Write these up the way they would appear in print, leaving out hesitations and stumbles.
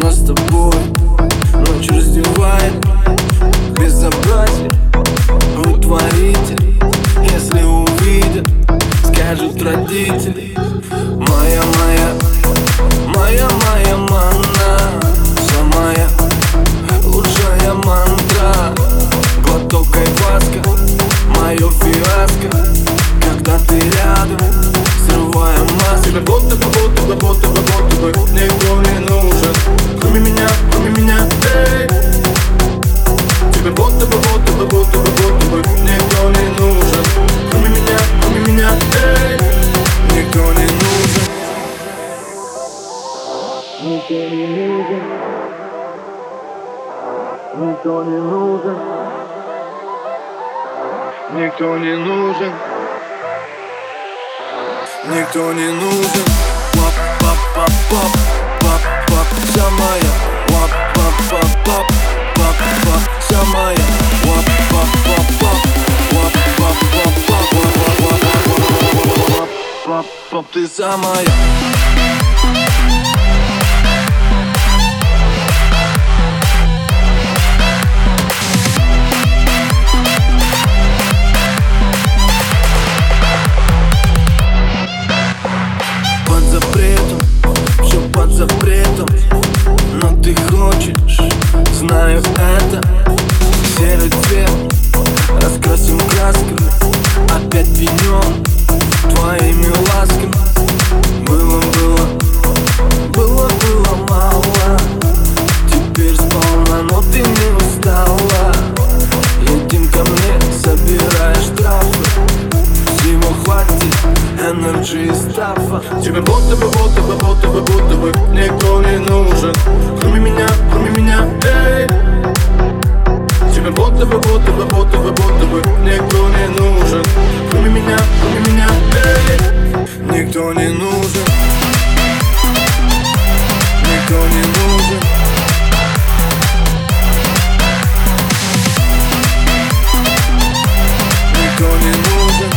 нас с тобой ночь раздевает безобразие утворитель. Если увидят, скажут родители: моя манна, самая лучшая мантра. Глоток айваска, мое фиаско, когда ты рядом, срывая маску. Тебе будто бы никто не нужен, кроме меня, эй. Тебе будто бы никто не нужен, кроме меня, эй. Никто не нужен, никто не нужен, никто не нужен, никто не нужен, никто не нужен. Пап, вся моя. Пап, вся моя. Пап, ты самая. Под запретом, все под запретом, но ты хочешь, знаю это. Серый цвет раскрасим красками, опять пьянём твоими ласками. Было мало, теперь сполна, но ты не устала. Едем ко мне, собираешь штрафы, всего хватит энерджи и стафа. Тебе будто бы никто не нужен, кроме меня, эй. Тебе будто бы никто не нужен, кроме меня, эй. Никто не нужен, никто не нужен, никто не нужен.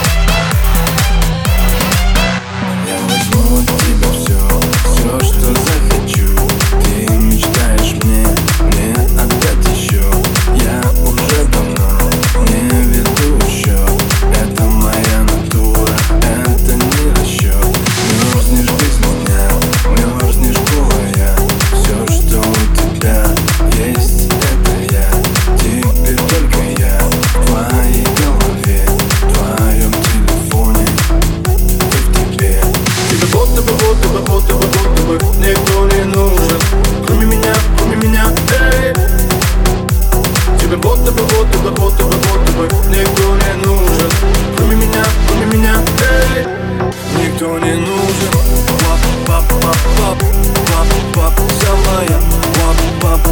Я возьму от тебя все, что захочу. Ты мечтаешь мне отдать еще. Я уже давно не веду счет. Это моя натура, это не расчет. Мерзнешь без меня, мерзнешь голая. Все, что у тебя есть, это я. Теперь только я в твоей голове, в твоем телефоне и в тебе. Тебе будто бы никто не нужен, кроме меня, эй. Тебе будто бы никто не нужен, кроме меня, эй. Никто не нужен. Пап, вся моя. Пап,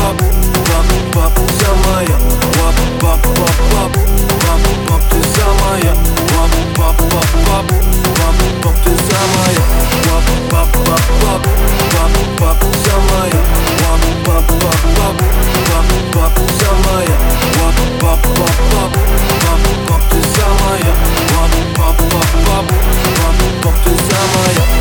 вся моя. Пап, ты самая. Пап, ты самая. Пап, вся моя. Пап, вся моя. Пап, ты самая. Пап, ты самая.